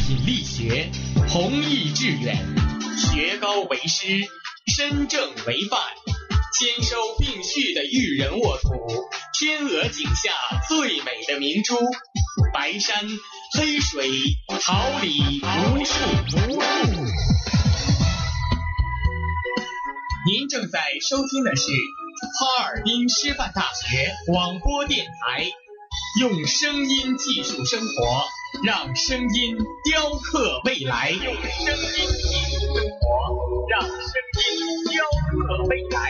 品力学，弘毅致远，学高为师，身正为范，兼收并蓄的育人沃土，天鹅颈下最美的明珠，白山黑水，桃李无数。您正在收听的是哈尔滨师范大学广播电台，用声音技术生活，让声音雕刻未来。用声音技术生活，让声音雕刻未来。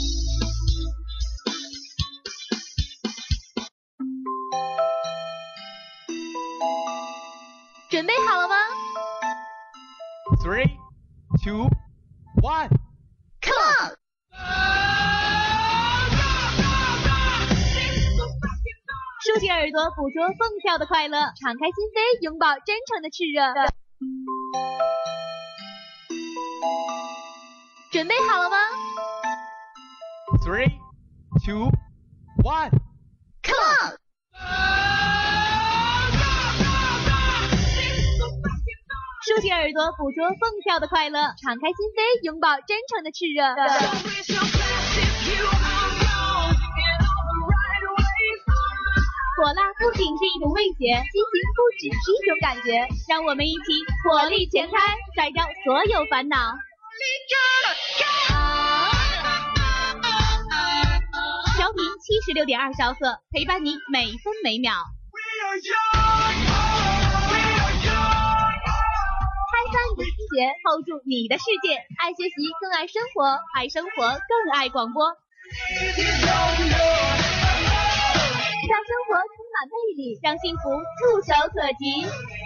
准备好了吗 ？3, 2, 1, Come on！ 竖起耳朵，捕捉蹦跳的快乐，敞开心扉，拥抱真诚的炽热。准备好了吗 ？3, 2, 1, Come on！ 竖起耳朵，捕捉蹦跳的快乐，敞开心扉，拥抱真诚的炽热。火辣不仅是一种味觉，激情不只是一种感觉，让我们一起火力全开，甩掉所有烦恼。调频76.2兆赫，陪伴你每分每秒。开发你的听觉 ，hold 住你的世界，爱学习更爱生活，爱生活更爱广播。让生活充满魅力，让幸福触手可及。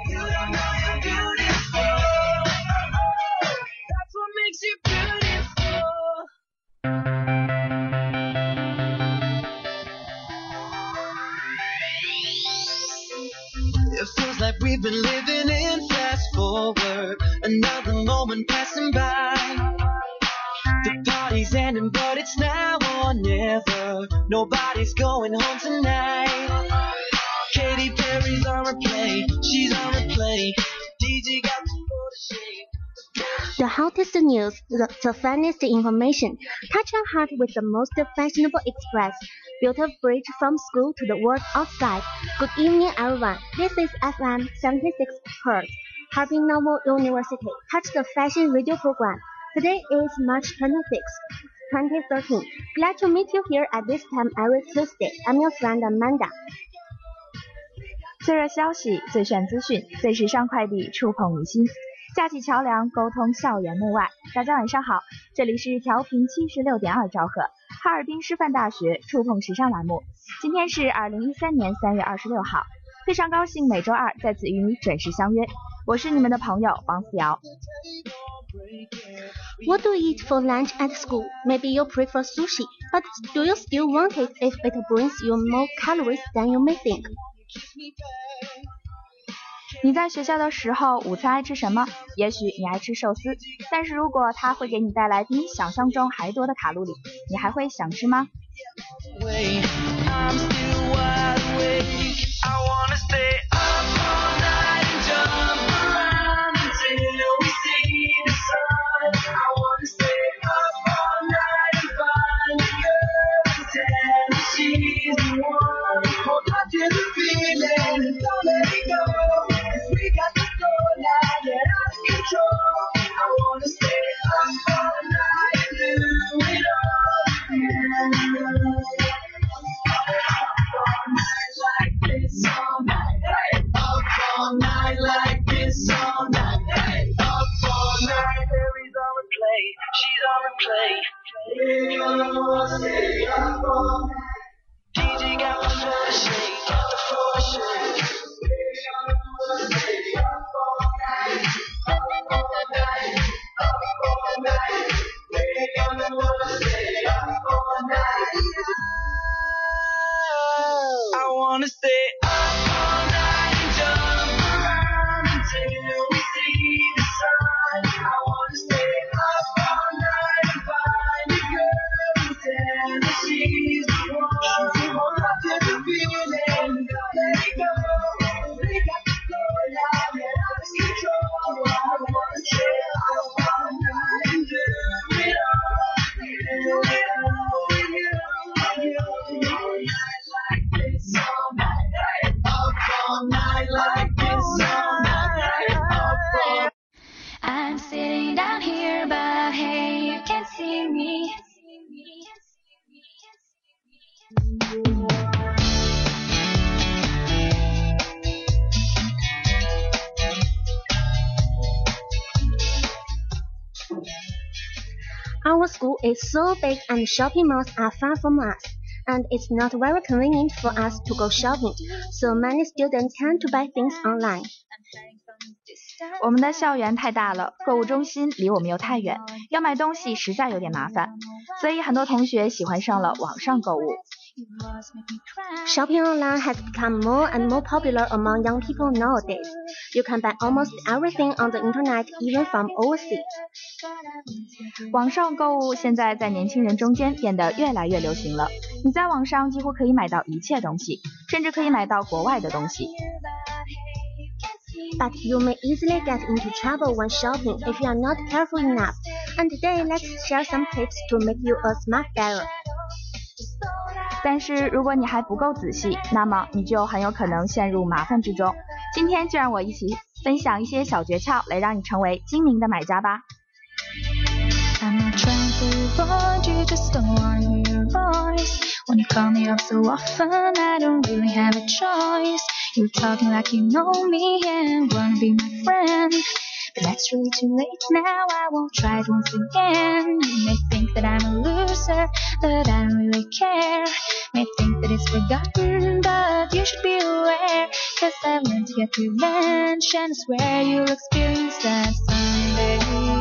It feels like we've been living in fast forward, another moment passing by. The party's ending, but it's now or never. Nobody's going home tonight. Katy Perry's on replay, she's on replay. DJ got the photo shade. The hottest news, the funniest information. Touch your heart with the most fashionable express. Built a bridge from school to the world outside. Good evening, everyone. This is FM 76 Hertz, Harbin Normal University. Touch the Fashion Radio Program. Today is March 26, 2013. Glad to meet you here at this time every Tuesday. I'm your friend Amanda. 最热消息，最炫资讯，最时尚快递，触碰你心。架起桥梁，沟通校园内外。大家晚上好，这里是调频76.2兆赫，哈尔滨师范大学触碰时尚栏目。今天是2013年3月26号，非常高兴每周二在此与你准时相约。我是你们的朋友王思瑶。 What do you eat for lunch at school? Maybe you prefer sushi, but do you still want it if it brings you more calories than you may think? 你在学校的时候，午餐爱吃什么？也许你爱吃寿司，但是如果它会给你带来比你想象中还多的卡路里，你还会想吃吗？ Our school is so big and shopping malls are far from us, and it's not very convenient for us to go shopping, so many students tend to buy things online. 我们的校园太大了，购物中心离我们又太远，要买东西实在有点麻烦，所以很多同学喜欢上了网上购物。 Shopping online has become more and more popular among young people nowadays. You can buy almost everything on the internet, even from overseas. 网上购物现在在年轻人中间变得越来越流行了。你在网上几乎可以买到一切东西，甚至可以买到国外的东西。 But you may easily get into trouble when shopping if you are not careful enough. And today, let's share some tips to make you a smart buyer. 但是如果你还不够仔细，那么你就很有可能陷入麻烦之中。今天就让我一起分享一些小诀窍，来让你成为精明的买家吧。 I'm not trying to avoid you, just don't want to hear your voice. When you call me up so often, I don't really have a choice. You're talking like you know me and wanna be my friend. But that's really too late now, I won't try it once again. You may think that I'm a loser, but I don't really care. May think that it's forgotten, but you should be aware. Cause I've learned to get revenge, and I swear you'll experience that someday.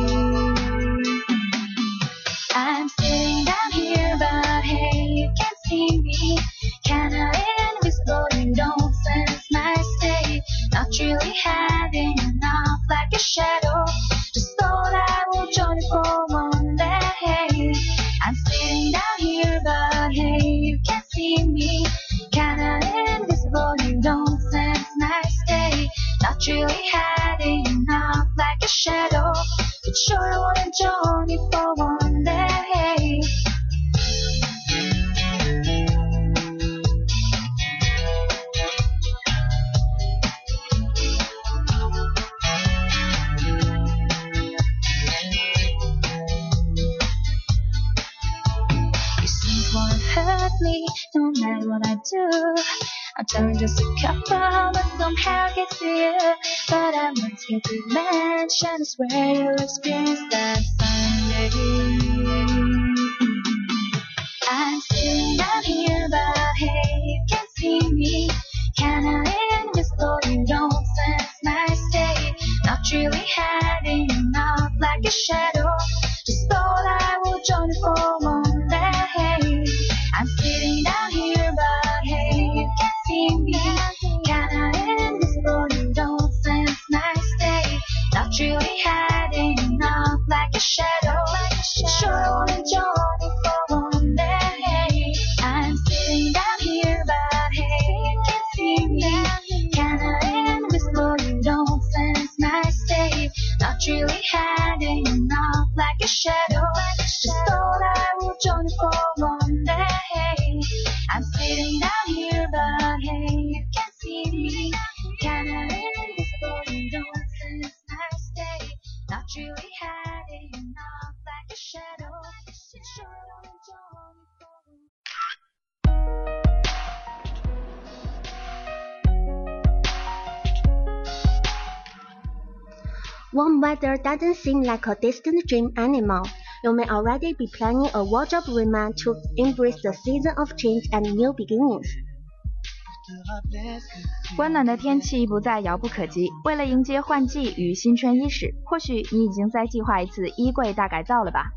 I'm sitting down here, but hey, you can't see me. Kinda invisible, you don't sense my state. Not really having enough, like a shadow. Just thought I will join you for one day. I'm sitting down here, but hey, you can't see me. Kinda invisible, you don't sense my state. Not really having enough, like a shadow. But sure I wanna join you for one day. Hurt me, no matter what I do. I'll tell you just a couple, but somehow get to you. But I want to get revenge, and I swear you'll experience that someday. I'm sitting down here, but hey, you can't see me. Kinda invisible, you don't sense my state. Not really having enough, like a shadow. Just thought I would join you for one day. I'm sitting down here, but hey, you can't see me. Kinda invisible, you don't sense my state. Not really hiding enough, like a shadow. Sure I wanna join you for one day. I'm sitting down here, but hey, you can't see me. Kinda invisible, you don't sense my state. Not really hiding enough, like a shadow. Just thought I would join you for one day. I'm sitting down here, but hey, you can't see me. Kinda invisible, you don't sense my state. Not really hiding enough, like a shadow. Sure I wanna join you for Warm weather doesn't seem like a distant dream anymore. You may already be planning a wardrobe remount to embrace the season of change and new beginnings. 温暖的天气不再遥不可及，为了迎接换季与新春伊始，或许你已经在计划一次衣柜大改造了吧？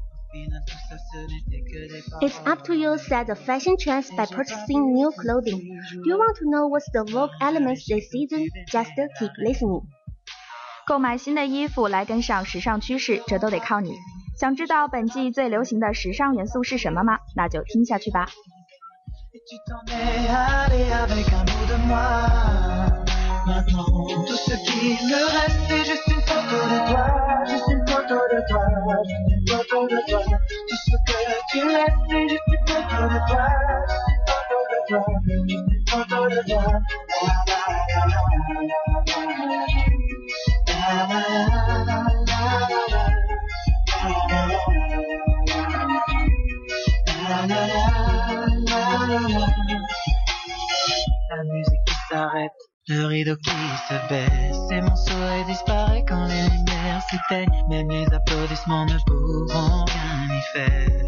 It's up to you to set the fashion trends by purchasing new clothing. Do you want to know what's the Vogue elements this season? Just keep listening. 购买新的衣服来跟上时尚趋势，这都得靠你。想知道本季最流行的时尚元素是什么吗？那就听下去吧。 La musique qui s'arrête, le rideau qui se baisse, et mon sourire disparaît quand les lumières s'éteignent. Même les applaudissements ne pourront rien y fait.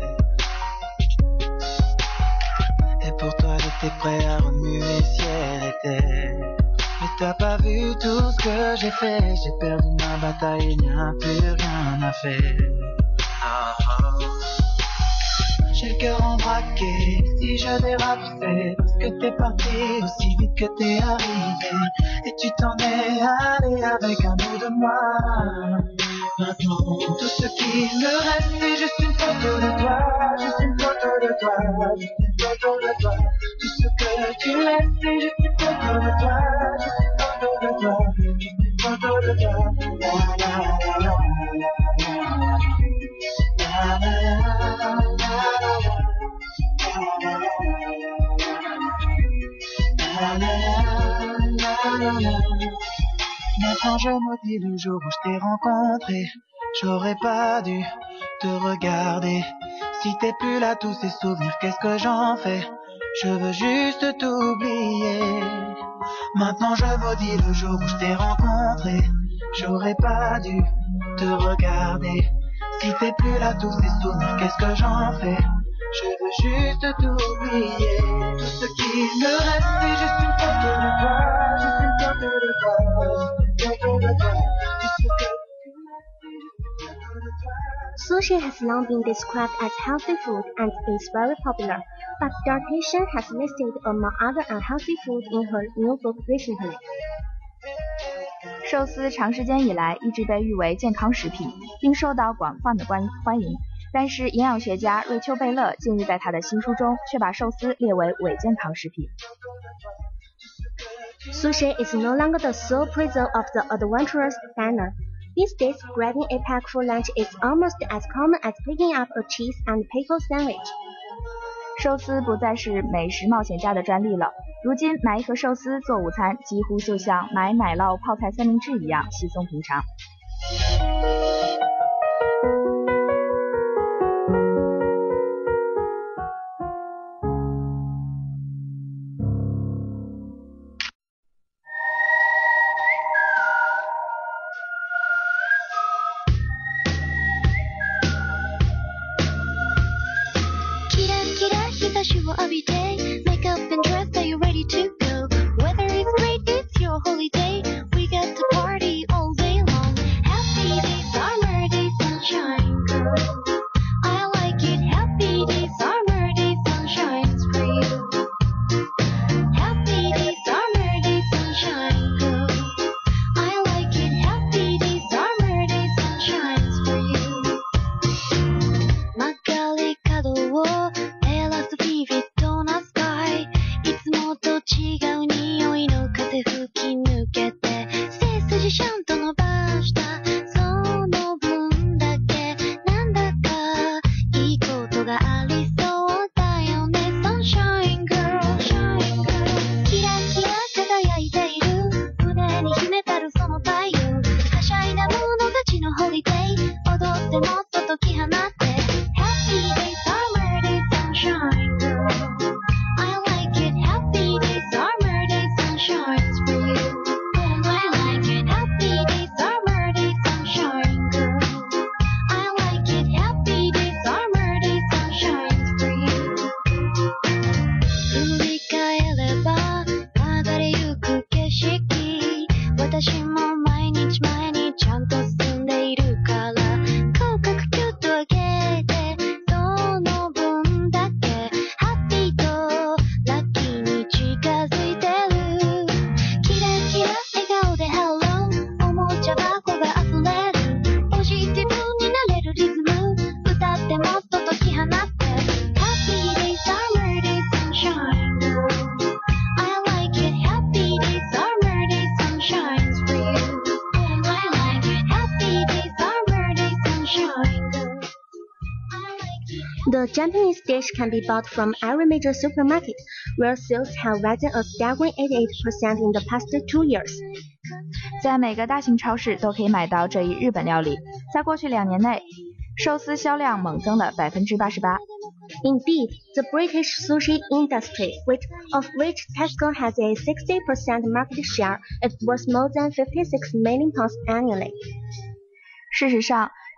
Et pour toi j'étais prêt à remuer ciel et terre. Mais t'as pas vu tout ce que j'ai fait. J'ai perdu ma bataille, il n'y a plus rien à faire. J'ai le cœur embraqué, si je dérape c'est parce que t'es parti aussi vite que t'es arrivé. Et tu t'en es allé avec un bout de moi. Maintenant tout ce qui me reste c'est juste une photo de toi. Juste une photo de toi, juste une photo de toi. Tout ce que tu laisses c'est juste une photo de toi. Juste une photo de toi, juste une photo de toi. La la la la la la la la. Maintenant je maudis le jour où je t'ai rencontré. J'aurais pas dû te regarder. Si t'es plus là, tous ces souvenirs, qu'est-ce que j'en fais? Je veux juste t'oublier. Maintenant je maudis le jour où je t'ai rencontré. J'aurais pas dû te regarder. Si t'es plus là, tous ces souvenirs, qu'est-ce que j'en fais? Je veux juste t'oublier. Tout ce qui me reste c'est juste une photo de toi. Juste une photo de toi. Juste une photo de toi. Tout ce que Sushi has long been described as healthy food and is very popular, but dietitian has listed among other unhealthy food in her new book recently. 寿司长时间以来一直被誉为健康食品，并受到广泛的欢迎。但是营养学家瑞秋贝勒近日在他的新书中却把寿司列为伪健康食品。 Sushi is no longer the sole preserve of the adventurous diner. These days, grabbing a pack for lunch is almost as common as picking up a cheese and pickle sandwich. 寿司不再是美食冒险家的专利了，如今买一盒寿司做午餐几乎就像买奶酪泡菜三明治一样稀松平常。 The Japanese dish can be bought from every major supermarket, where sales have risen a staggering 88% in the past 2 years. 在每个大型超市都可以买到这一日本料理，在过去2年内，寿司销量猛增了88%。 Indeed, the British sushi industry, of which Tesco has a 60% market share, is worth more than 56 million pounds annually. 事实上，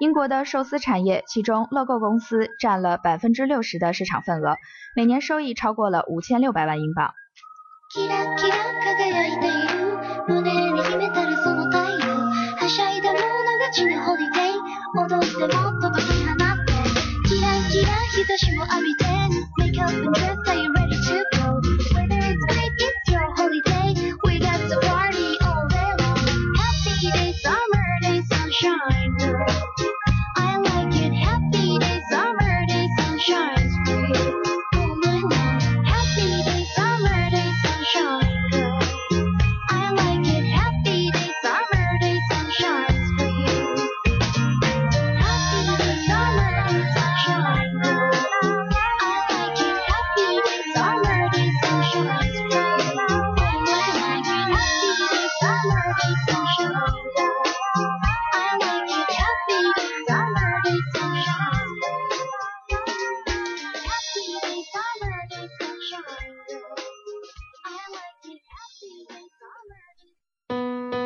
英国的寿司产业，其中乐购公司占了60%的市场份额，每年收益超过了5600万英镑。 キラキラ輝いている胸に秘めたるその太陽はしゃいだ者勝ちのホリデー踊ってもっと解き放ってキラキラ日差しも浴びて Make up and dress, are you ready to go? Whether it's night, it's your holiday We got to party all day long Happy day, summer day, sunshine I like it Happy day, summer day, sunshine Sweet all night long Happy day, summer day, sunshine I like it Happy day, summer day, sunshine Sweet Happy day, summer day, sunshine I like it Happy day, summer day, sunshine Sweet I like it Happy day, summer day, sunshine I like it Happy day, summer day, sunshine Happy day, summer day, sunshine I like it Happy day, summer day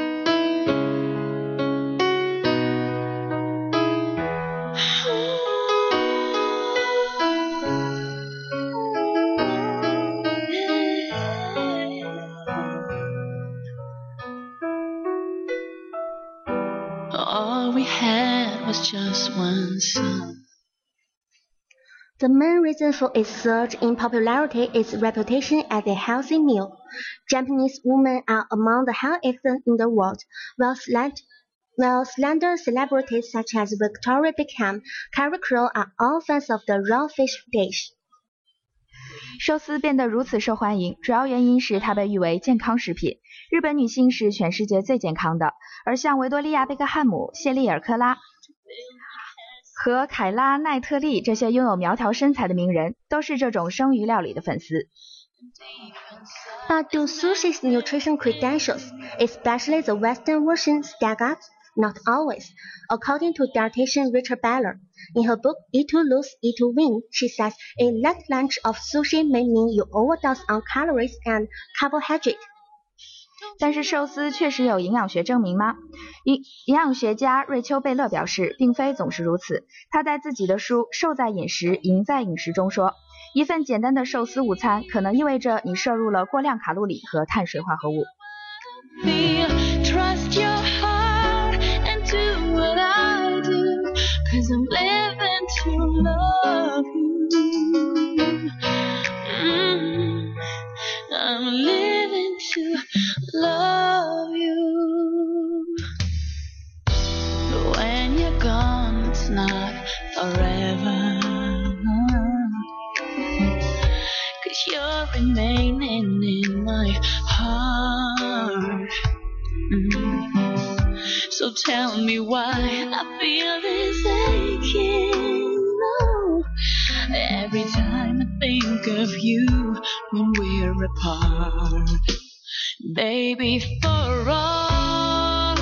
All we had was just one sun. The main reason for its surge in popularity is reputation as a healthy meal. Japanese women are among the healthiest in the world, while slender celebrities such as Victoria Beckham, Carrie Crow are all fans of the raw fish dish. 寿司变得如此受欢迎，主要原因是它被誉为健康食品。日本女性是全世界最健康的，而像维多利亚·贝克汉姆、谢丽尔·克拉和凯拉·奈特利这些拥有苗条身材的名人，都是这种生鱼料理的粉丝。 But do sushi's nutrition credentials, especially the Western version, stack up? Not always. According to dietitian Rachel Beller, in her book Eat to Lose, Eat to Win, she says a late lunch of sushi may mean you overdose on calories and carbohydrate. 但是寿司确实有营养学证明吗？营养学家瑞秋·贝勒表示，并非总是如此。他在自己的书《瘦在饮食，赢在饮食》中说，一份简单的寿司午餐可能意味着你摄入了过量卡路里和碳水化合物。 Trust your heart and do what I do, 'cause I'm living to love you. I'm living to love you. But when you're gone, it's not forever. 'Cause you're remaining in my heart. So tell me why I feel this aching. No, every time I think of you when we're apart, baby, for all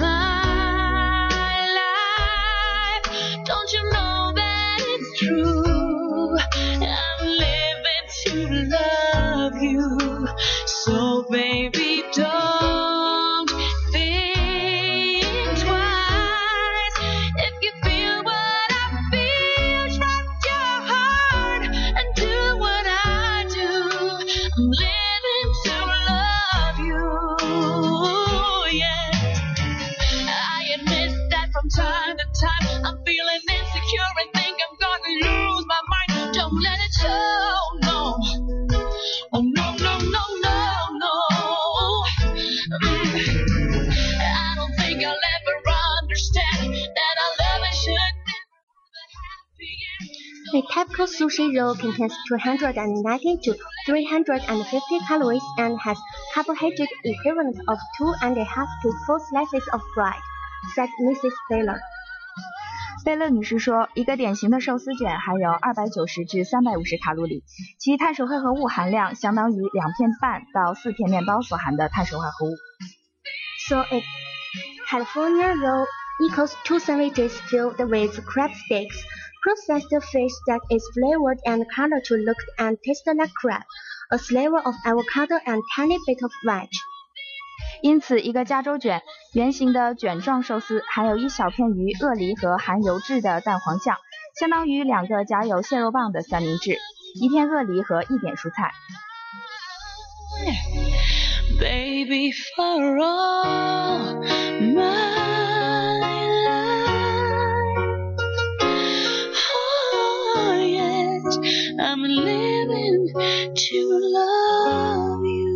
my life, don't you know that it's true? I'm living to love you, so baby, don't think twice. If you feel what I feel, trust your heart and do what I do. I'm living to love you, yeah. I admit that from time to time I'm feeling insecure and think I'm gonna lose my mind. Don't let it show, no. Oh no, no, no, no, no. I don't think I'll ever understand that our love should never be happy. A typical sushi roll contains 290 to 350 calories and has carbohydrate equivalent of 2.5 to 4 slices of bread, said Mrs. Baylor. 贝勒女士说，一个典型的寿司卷含有290至350卡路里，其碳水化合物含量相当于2片半到4片面包所含的碳水化合物。 So a California roll equals 2 sandwiches filled with crab sticks, processed fish that is flavored and colored to look and taste like crab, a sliver of avocado and tiny bit of veg. 因此，一个加州卷圆形的卷状寿司含有一小片鱼、鳄梨和含油质的蛋黄酱，相当于2个夹有蟹肉棒的三明治，1片鳄梨和1点蔬菜。 Baby, for all my life, oh yes, I'm living to love you.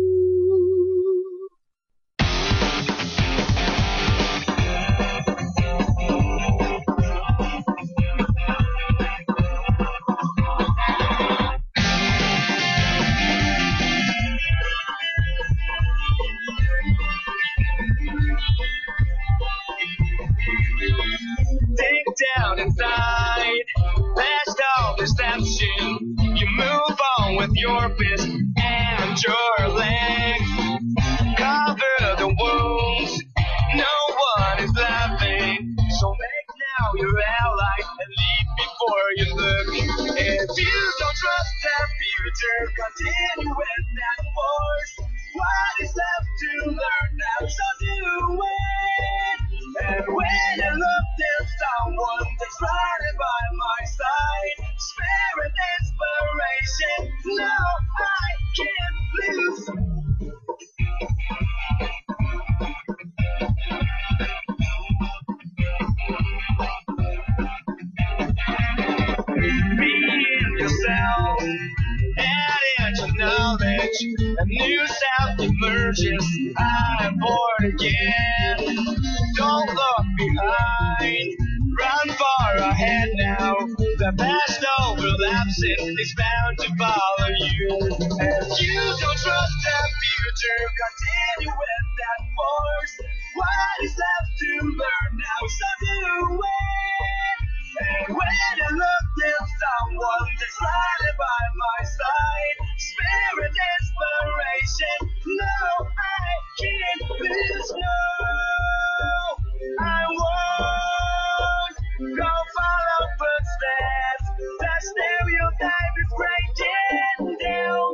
Down inside, past all deception, you move on with your fist and your legs, cover the wounds, no one is laughing, so make now your ally and leave before you look. If you don't trust that future, continue with that force. What is left to learn now, so do it. And when you look at someone that's right by my side, spirit inspiration, no, I can't lose. Being yourself, add into knowledge, a new self emerges, I'm born again. Don't look behind, run far ahead now. The past overlapsing is bound to follow you. If you don't trust the future, continue with that force. What is left to learn now, so do it. And when you look at someone that's right by my side, spirit inspiration, no, I can't lose, no, I won't go follow footsteps, the stereotype is breaking down.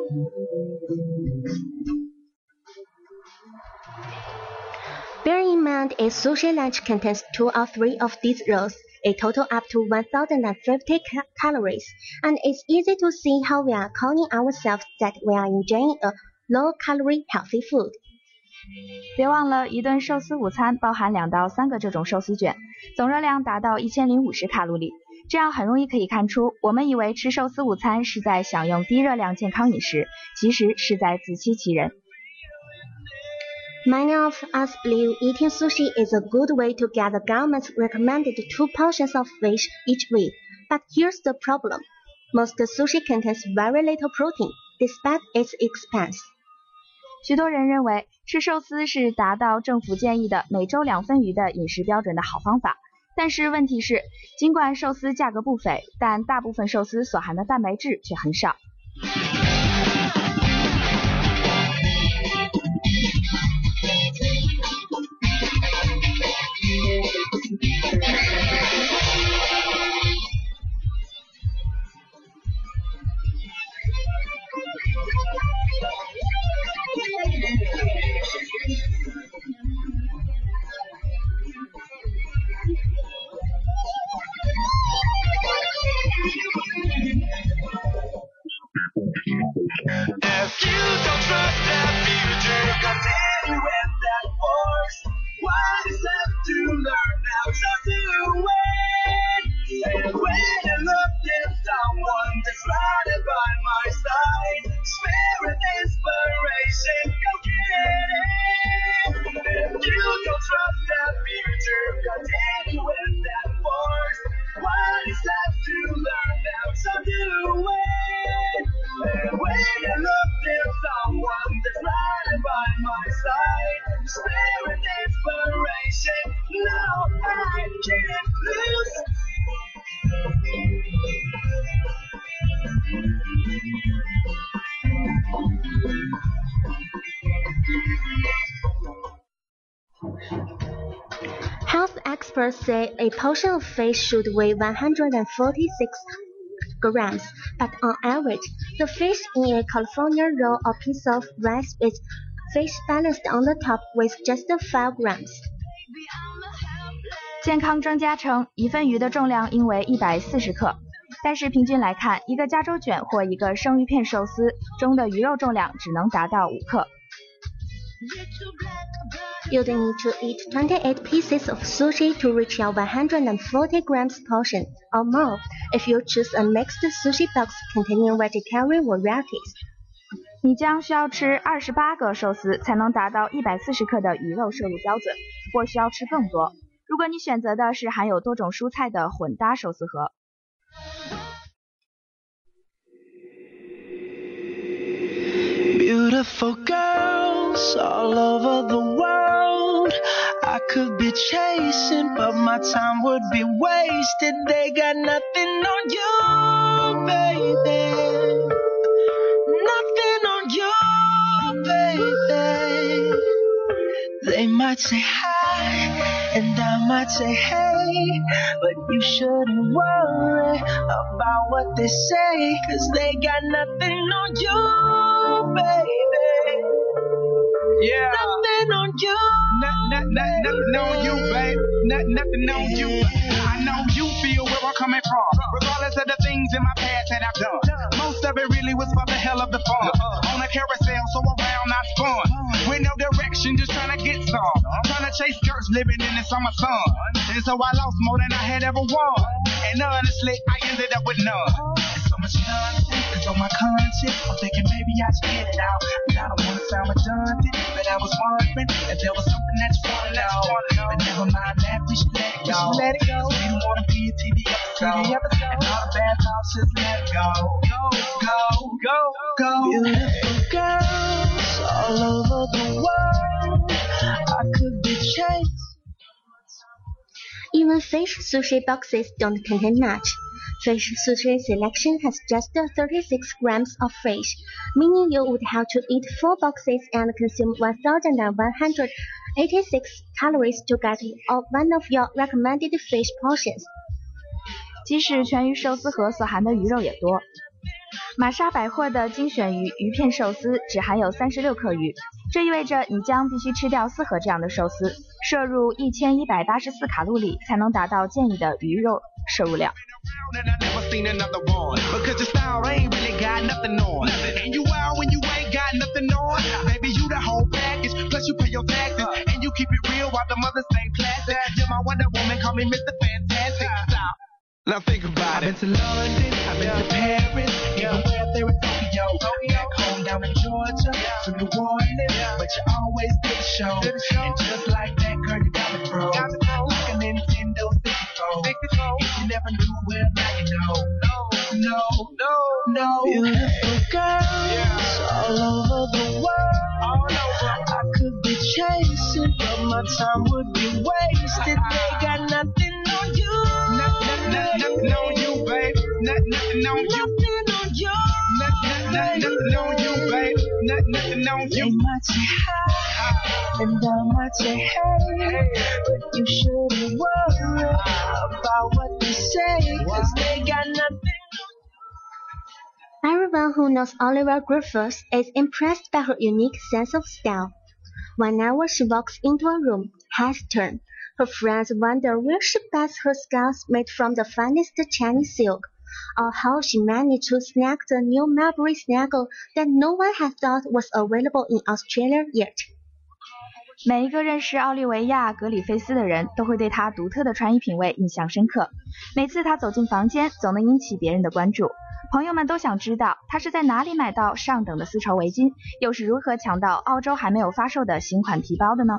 Bear in mind a sushi lunch contains 2 or 3 of these rolls, a total up to 1050 calories, and it's easy to see how we are calling ourselves that we are enjoying a low-calorie healthy food. 别忘了，一顿寿司午餐包含2到3个这种寿司卷，总热量达到1050卡路里。这样很容易可以看出，我们以为吃寿司午餐是在享用低热量健康饮食，其实是在自欺欺人。 Many of us believe eating sushi is a good way to get the government's recommended 2 portions of fish each week. But here's the problem. Most sushi contains very little protein, despite its expense. 许多人认为吃寿司是达到政府建议的每周2份鱼的饮食标准的好方法。但是问题是，尽管寿司价格不菲，但大部分寿司所含的蛋白质却很少。 If you don't trust the future, continue with that force. What is left to learn now, so do it. And when you look at someone that's right by my side, spirit inspiration, go get it. If you don't trust the future, continue with that force. What is left to learn now, so do it. And when you look at someone that's right by my side, spirit inspiration, no, I can't lose. Health experts say a portion of fish should weigh 146 grams, but on average, the fish in a California roll or piece of rice weighs fish balanced on the top with just 5 grams. 健康专家称，一份鱼的重量应为140克，但是平均来看，一个加州卷或一个生鱼片寿司中的鱼肉重量只能达到5克。 You'd need to eat 28 pieces of sushi to reach your 140 grams portion or more if you choose a mixed sushi box containing vegetarian varieties. 你将需要吃28个寿司才能达到140克的鱼肉摄入标准，或需要吃更多。如果你选择的是含有多种蔬菜的混搭寿司盒。 Beautiful girls all over the world I could be chasing, but my time would be wasted. They got nothing on you, baby. Nothing on you, baby. They might say hi, and I might say hey, but you shouldn't worry about what they say, 'cause they got nothing on you, baby. Yeah. Nothing on you. Nothing on you, babe. Nothing on you. I know you feel where I'm coming from, regardless of the things in my past that I've done. Most of it really was for the hell of the fun. On a carousel, so around I spun. With no direction, just trying to get some. Trying to chase skirts, living in the summer sun. And so I lost more than I had ever won. And honestly, I ended up with none. There's so much nonsense that's on my conscience. I'm thinking maybe I should get it out. But I don't want to sound redundant. But I was wondering if there was something that you want to know. But never mind that, we should let it go. We don't want to be a TV episode. And all the bad thoughts, just let it go. Go. Beautiful girls all over the world I could be chased. Even fish sushi boxes don't contain much. Fish sushi selection has just 36 grams of fish, meaning you would have to eat 4 boxes and consume 1,186 calories to get one of your recommended fish portions. 即使全鱼寿司盒所含的鱼肉也多。玛莎百货的精选鱼片寿司只含有36克鱼，这意味着你将必须吃掉4盒这样的寿司，摄入1184卡路里才能达到建议的鱼肉摄入量。 Now think about it. I've been to London, I've been to Paris, even where there in Tokyo. Back home down in Georgia, to New Orleans, but you always did the show. And just like that, girl, you got me froze. Like a Nintendo 64. If you never knew, well, now you know. No. Beautiful girls all over the world. I could be chasing, but my time would be wasted. They got nothing on you. Nothing on you, babe. Nothing on you. Nothing on you, babe. Nothing on They you. might say hi, and I might say hey, but you shouldn't worry about what they say, 'cause they got nothing. Everyone who knows Olivia Griffiths is impressed by her unique sense of style. Whenever she walks into a room, heads turn, her friends wonder where she buys her scarves made from the finest Chinese silk, or how she managed to snag the new Mulberry Snaggle that no one had thought was available in Australia yet. 每一个认识奥利维亚·格里菲斯的人都会对她独特的穿衣品味印象深刻。每次她走进房间，总能引起别人的关注。朋友们都想知道她是在哪里买到上等的丝绸围巾，又是如何抢到澳洲还没有发售的新款皮包的呢？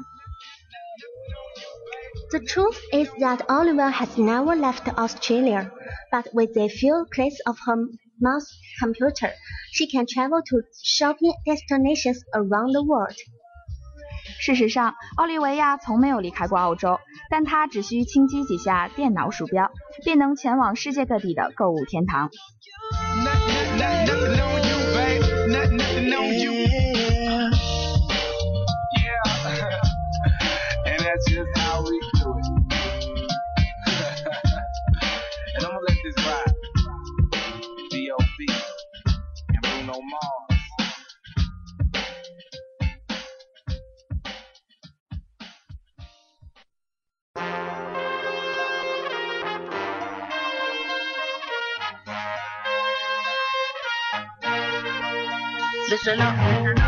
The truth is that Olivia has never left Australia, but with a few clicks of her mouse computer, she can travel to shopping destinations around the world. 事实上，奥利维亚从没有离开过澳洲，但她只需轻击几下电脑鼠标，便能前往世界各地的购物天堂。 Nothing on you, babe. Nothing on you. Yeah. And that's just how we do it. And I'm gonna let this ride. B.O.B. and Bruno Mars. Listen up.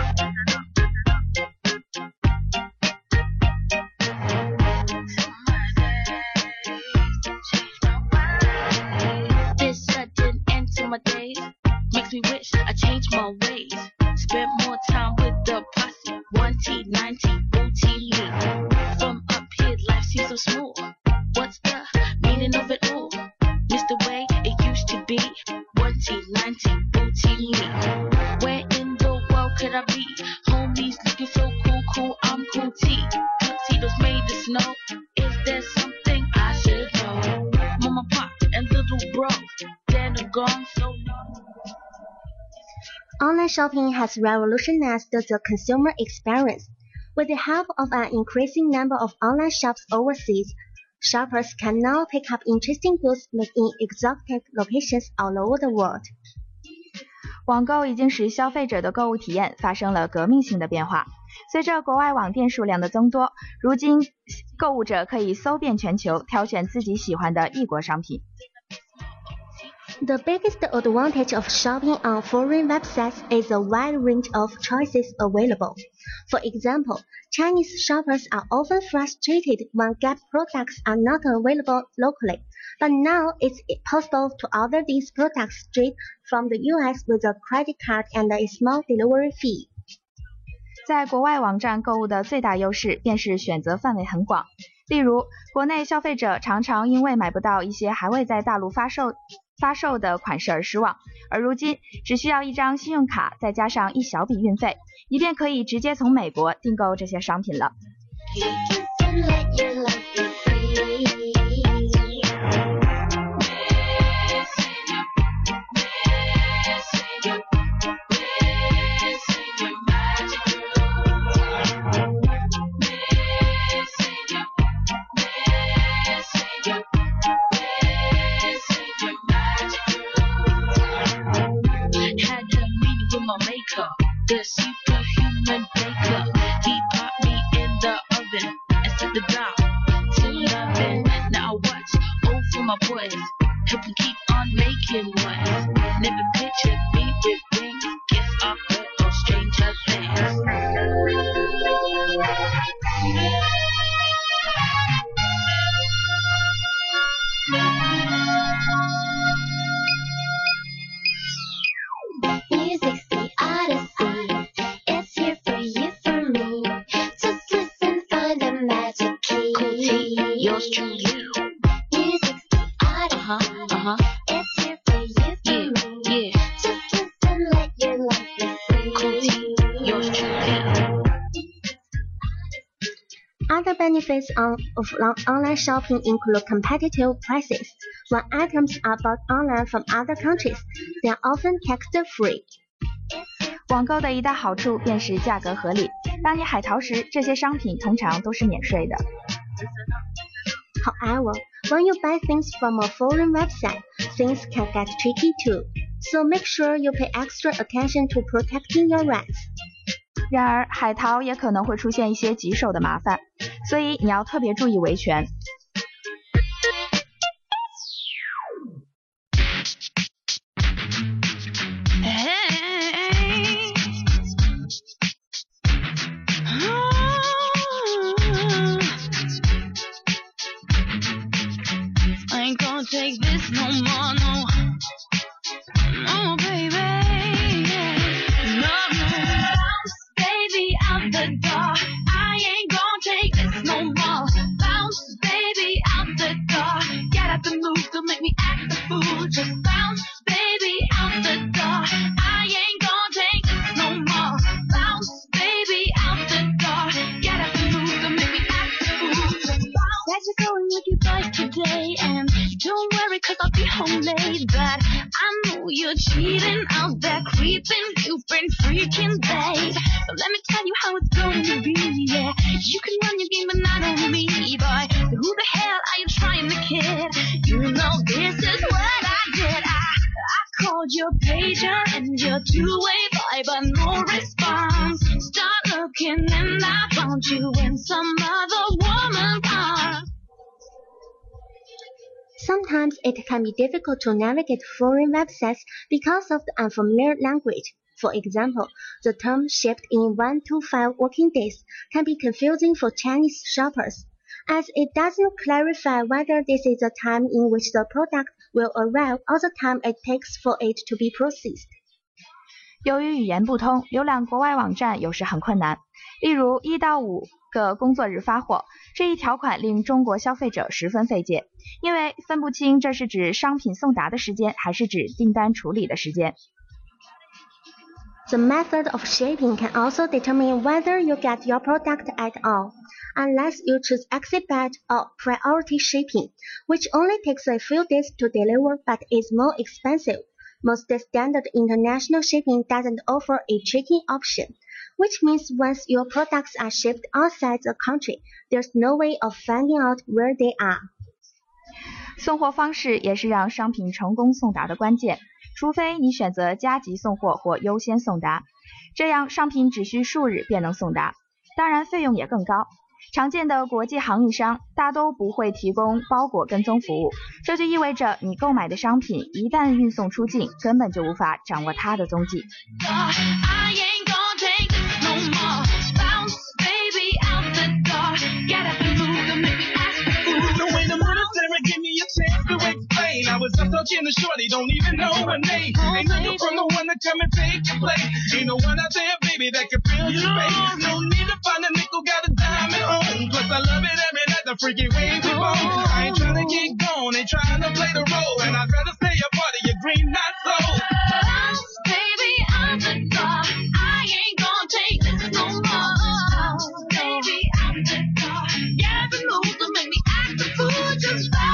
This sudden end to my days makes me wish I changed my ways. Spent more time with the posse. 1T, 9T, booty me. From up here, life seems so smooth. What's the meaning of it all? Miss the way it used to be. 1T, 9T, booty me. Where in the world could I be? Homies looking so cool, I'm cool T. Tuxedos made of snow. Is there something I should know? Mama, pop, and little bro, they're gone so long. Online shopping has revolutionized the consumer experience. With the help of an increasing number of online shops overseas, shoppers can now pick up interesting goods made in exotic locations all over the world. 网购已经使消费者的购物体验发生了革命性的变化。随着国外网店数量的增多，如今购物者可以搜遍全球，挑选自己喜欢的异国商品。 The biggest advantage of shopping on foreign websites is the wide range of choices available. For example, Chinese shoppers are often frustrated when Gap products are not available locally, but now it's possible to order these products straight from the US with a credit card and a small delivery fee. 在国外网站购物的最大优势便是选择范围很广。例如，国内消费者常常因为买不到一些还未在大陆发售的款式而失望，而如今只需要一张信用卡再加上一小笔运费，你便可以直接从美国订购这些商品了。 The superhuman baker, he popped me in the oven and set the dial to loving. Now I watch over my boys, help them keep on making ones. Never pictured me with rings, gifts off or stranger things. Music's the odyssey. It's here for you, for me. Just listen, find the magic key. Yours truly. Music's the odyssey. It's here for you, for me. Just listen, let your life be free. Yours truly. Other benefits of online shopping include competitive prices. When items are bought online from other countries, they are often tax-free. 网购的一大好处便是价格合理。当你海淘时，这些商品通常都是免税的。 However, when you buy things from a foreign website, things can get tricky too. So make sure you pay extra attention to protecting your rights. 然而，海淘也可能会出现一些棘手的麻烦，所以你要特别注意维权。 Take this no more, no, no, baby, no, bounce, baby, out the door. I ain't gonna take this no more. Bounce, baby, out the door. Get up and move, don't make me act the fool. Just bounce, baby, out the door. I ain't gonna take this no more. Bounce, baby, out the door. Get up and move, don't make me act the fool. Just bounce. That you're going with your boys today, and don't worry, cause I'll be home late. But I know you're cheating out there, creeping, you've been freaking babe. So let me tell you how it's going to be, yeah. You can run your game, but not on me, boy. So who the hell are you trying to kid? You know this is what I did. I called your pager and your two-way boy, but no response. Start looking and I found you in some other woman's arms. Sometimes it can be difficult to navigate foreign websites because of the unfamiliar language. For example, the term shipped in 1 to 5 working days can be confusing for Chinese shoppers, as it doesn't clarify whether this is the time in which the product will arrive or the time it takes for it to be processed. 由于语言不通，浏览国外网站有时很困难。例如1到5个工作日发货，这一条款令中国消费者十分费解，因为分不清这是指商品送达的时间还是指订单处理的时间。 The method of shipping can also determine whether you get your product at all, unless you choose expedite or priority shipping, which only takes a few days to deliver but is more expensive. Most standard international shipping doesn't offer a tracking option, which means once your products are shipped outside the country, there's no way of finding out where they are. 送货方式也是让商品成功送达的关键，除非你选择加急送货或优先送达，这样商品只需数日便能送达，当然费用也更高。常见的国际航运商大都不会提供包裹跟踪服务，这就意味着你购买的商品一旦运送出境，根本就无法掌握它的踪迹。 I was up talking to shorty, don't even know her name. Ain't nothing from the one to come and take your place. Ain't no one out there, baby, that can fill your space. No need to find a nickel, got a dime at home. Plus I love it every night, the freaky way we roll. I ain't trying to get gone, ain't trying to play the role. And I'd rather stay a part of your green, not so. Baby, I'm the dog. I ain't gonna take this no more. Baby, I'm the dog. Yeah, the moves to make me act the fool just fine.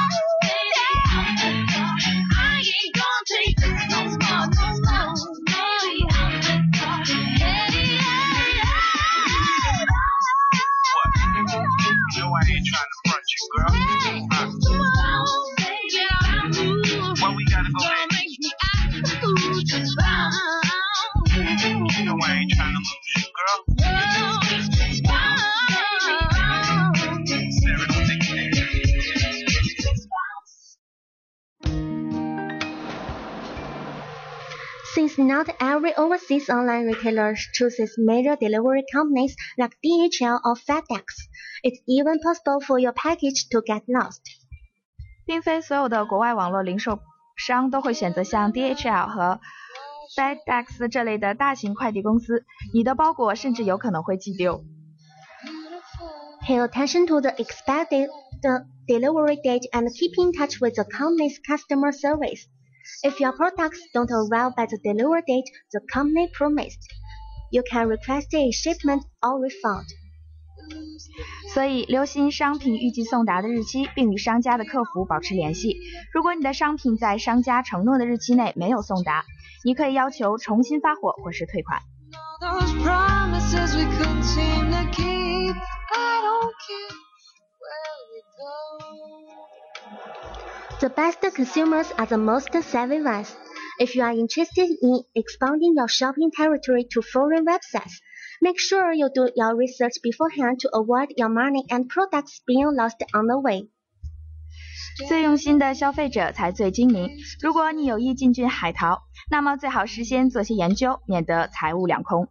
Since not every overseas online retailer chooses major delivery companies like DHL or FedEx, it's even possible for your package to get lost. 并非所有的国外网络零售商都会选择像 DHL 和 FedEx 这类的大型快递公司，你的包裹甚至有可能会寄丢。 Pay attention to the expected delivery date and keep in touch with the company's customer service. If your products don't arrive by the delivery date the company promised, you can request a shipment or refund. 所以留心商品预计送达的日期，并与商家的客服保持联系。如果你的商品在商家承诺的日期内没有送达，你可以要求重新发货或是退款。 The best consumers are the most savvy ones. If you are interested in expanding your shopping territory to foreign websites, make sure you do your research beforehand to avoid your money and products being lost on the way. 最用心的消费者才最精明。如果你有意进军海淘，那么最好事先做些研究，免得财物两空。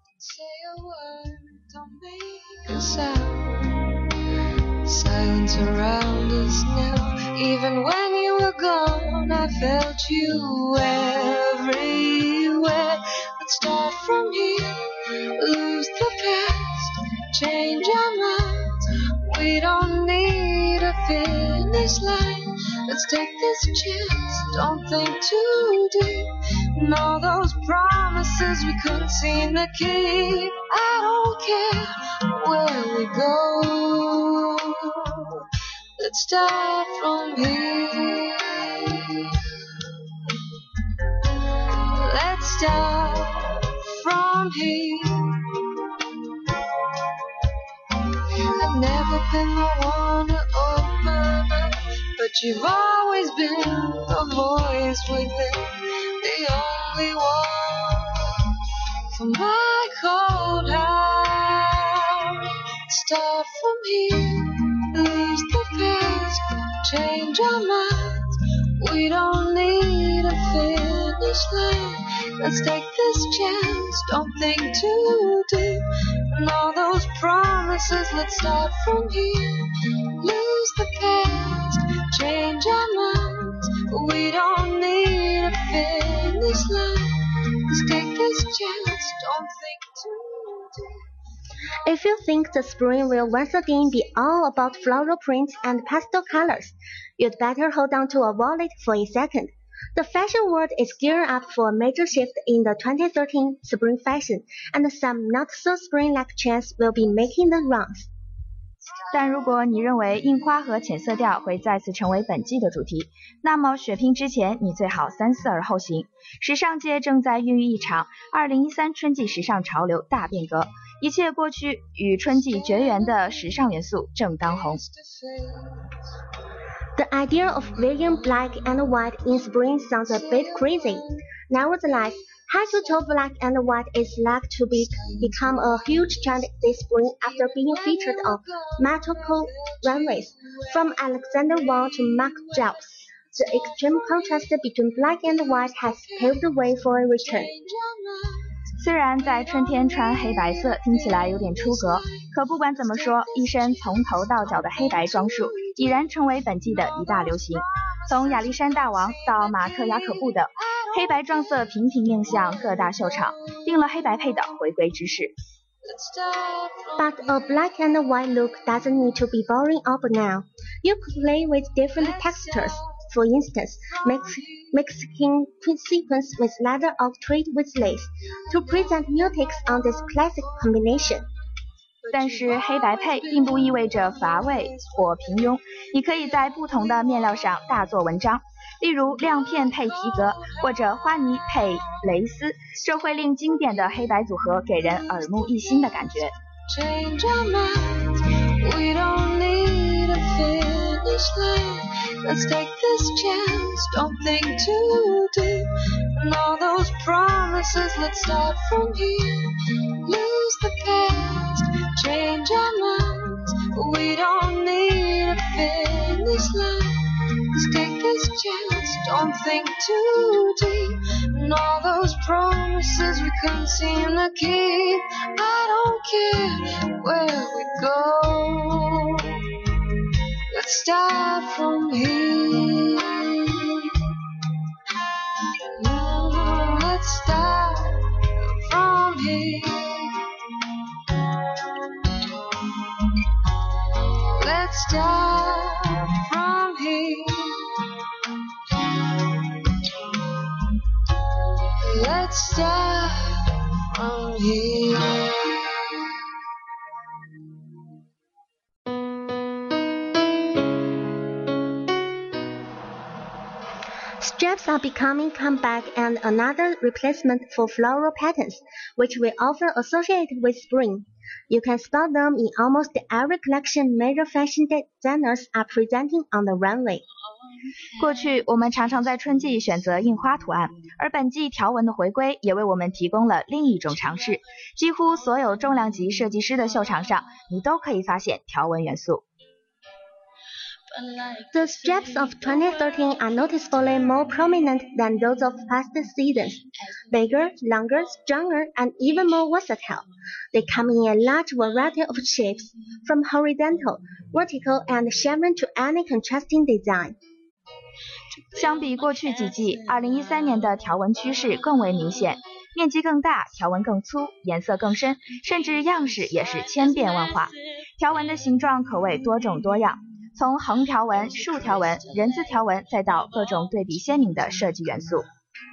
Silence around us now. Even when you were gone, I felt you everywhere. Let's start from here, lose the past, change our minds. We don't need a finish line. Let's take this chance, don't think too deep. And all those promises we couldn't seem to keep. I don't care where we go. Let's start from here. Let's start from here. I've never been the one to open up, but you've always been the voice within, the only one for my cold heart. Start from here, lose the past, change our minds. We don't need a finish line. Let's take this chance, don't think too deep. And all those promises, let's start from here. Lose the past, change our minds. We don't need a finish line. Let's take this chance, don't think too deep. If you think the spring will once again be all about floral prints and pastel colors, you'd better hold on to a wallet for a second. The fashion world is gearing up for a major shift in the 2013 spring fashion, and some not-so-spring-like trends will be making the rounds. 但如果你认为印花和浅色调会再次成为本季的主题，那么血拼之前你最好三思而后行。时尚界正在孕育一场2013春季时尚潮流大变革，一切过去与春季绝缘的时尚元素正当红。 The idea of wearing black and white in spring sounds a bit crazy. Nevertheless, high-to-toe black and white is likely to become a huge trend this spring after being featured on multiple runways, from Alexander Wang to Marc Jacobs. The extreme contrast between black and white has paved the way for a return. 虽然在春天穿黑白色听起来有点出格，可不管怎么说，一身从头到脚的黑白装束已然成为本季的一大流行。从亚历山大王到马特雅可布等，黑白撞色频频映相各大秀场，定了黑白配的回归之势。 But a black and white look doesn't need to be boring or banal. You could play with different textures. For instance, mixing sequins with leather or thread with lace to present new takes on this classic combination. 但是黑白配并不意味着乏味或平庸，你可以在不同的面料上大做文章，例如亮片配皮革，或者花呢配蕾丝，这会令经典的黑白组合给人耳目一新的感觉。 Change our minds, we don't need a finish line. Let's take this chance, don't think too deep. And all those promises, let's start from here. Lose the past, change our minds. We don't need a finish line. Let's take this chance, don't think too deep. And all those promises we couldn't seem to keep. I don't care where we go. Let's start from here. Let's start from here. Let's start from here. Let's start from here. Straps are becoming comeback and another replacement for floral patterns, which we often associate with spring. You can spot them in almost every collection major fashion designers are presenting on the runway. 过去我们常常在春季选择印花图案，而本季条纹的回归也为我们提供了另一种尝试。几乎所有重量级设计师的秀场上，你都可以发现条纹元素。 The straps of 2013 are noticeably more prominent than those of past seasons. Bigger, longer, stronger, and even more versatile. They come in a large variety of shapes, from horizontal, vertical, and chevron to any contrasting design. 相比过去几季，2013年的条纹趋势更为明显，面积更大，条纹更粗，颜色更深，甚至样式也是千变万化。条纹的形状可谓多种多样。从横条纹、竖条纹、人字条纹，再到各种对比鲜明的设计元素。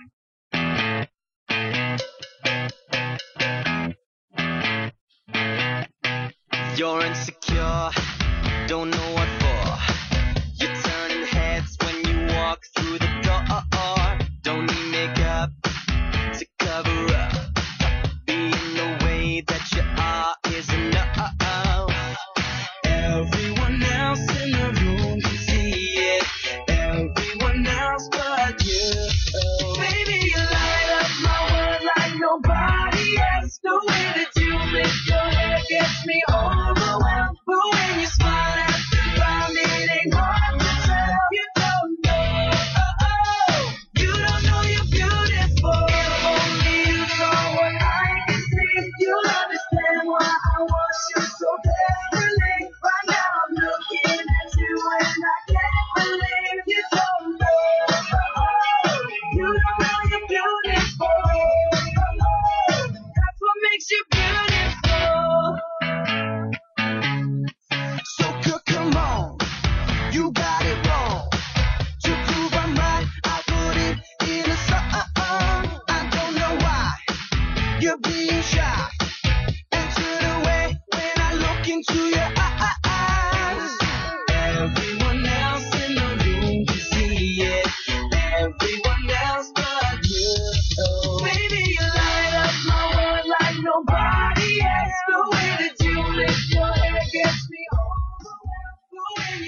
You're insecure, don't know what for. You're turning heads when you walk through the door. Don't need makeup to cover up. Being the way that you are is enough. Everyone else in the room can see it. Everyone else but you. Baby, you light up my world like nobody else. The way that you make your hair gets me overwhelmed. But when you smile at the ground, it ain't hard to tell. You don't know, you don't know you're beautiful.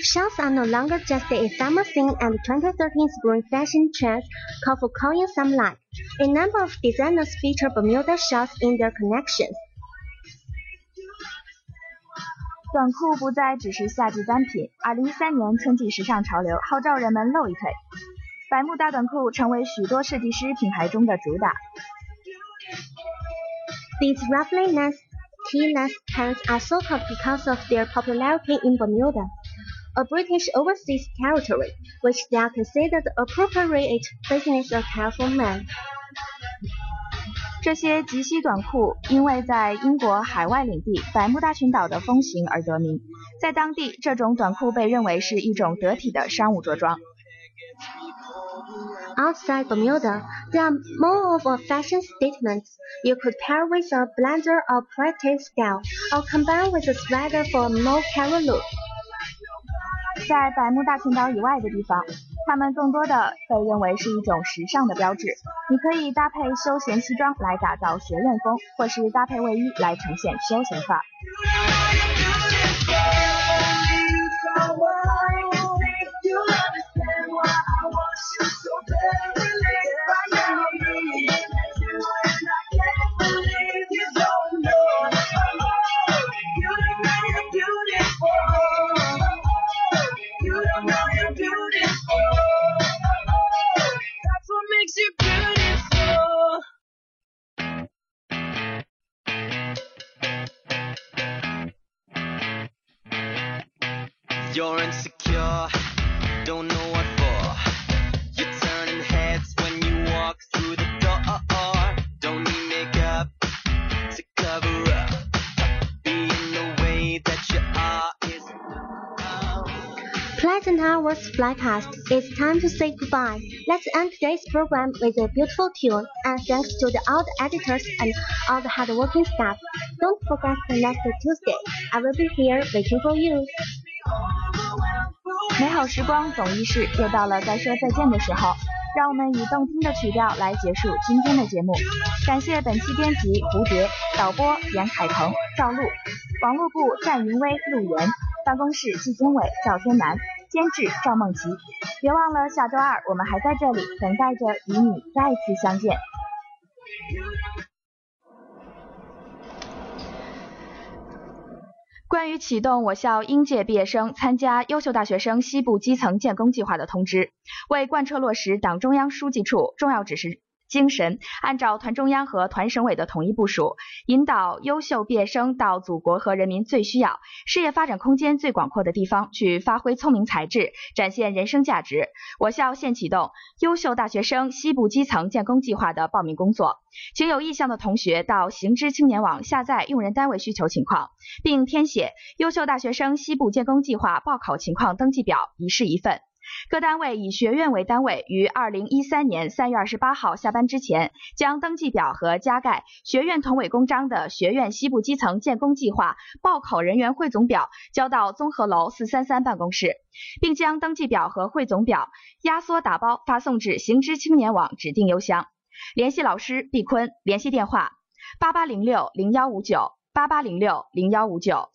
Shorts are no longer just the ephemeral thing, and the 2013 spring fashion trends call for calling some light. A number of designers feature Bermuda shorts in their collections. 短裤不再只是夏季单品，2013年春季时尚潮流号召人们露一腿，百慕大短裤成为许多设计师品牌中的主打。 These roughly less T-less pants are so called because of their popularity in Bermuda, a British overseas territory, which they are considered appropriate business attire for men. 这些及膝短裤因为在英国海外领地百慕大群岛的风行而得名，在当地这种短裤被认为是一种得体的商务着装。 Outside Bermuda, they are more of a fashion statement. You could pair with a blazer or pretty style, or combine with a sweater for a more casual look. 在百慕大群岛以外的地方，它们更多的被认为是一种时尚的标志。你可以搭配休闲西装来打造学院风，或是搭配卫衣来呈现休闲范儿。 You're insecure, don't know what for. You're turning heads when you walk through the door. Don't need makeup to cover up. Being the way that you are is Pleasant hours fly past. It's time to say goodbye. Let's end today's program with a beautiful tune. And thanks to all the editors and all the hardworking staff. Don't forget the next Tuesday. I will be here waiting for you. 美好时光总易逝，又到了该说再见的时候，让我们以动听的曲调来结束今天的节目。感谢本期编辑蝴蝶，导播严凯腾、赵露，网络部战云威、陆岩，办公室季经纬、赵天南，监制赵梦琪。别忘了下周二我们还在这里等待着与你再次相见。关于启动我校应届毕业生参加优秀大学生西部基层建功计划的通知，为贯彻落实党中央书记处重要指示精神，按照团中央和团省委的统一部署，引导优秀毕业生到祖国和人民最需要、事业发展空间最广阔的地方去发挥聪明才智，展现人生价值。我校现启动优秀大学生西部基层建功计划的报名工作，请有意向的同学到行知青年网下载用人单位需求情况，并填写优秀大学生西部建功计划报考情况登记表，一式一份。各单位以学院为单位，于2013年3月28号下班之前，将登记表和加盖学院同委公章的学院西部基层建功计划报考人员汇总表交到综合楼433办公室，并将登记表和汇总表压缩打包发送至行知青年网指定邮箱。联系老师毕坤，联系电话8806015988060159。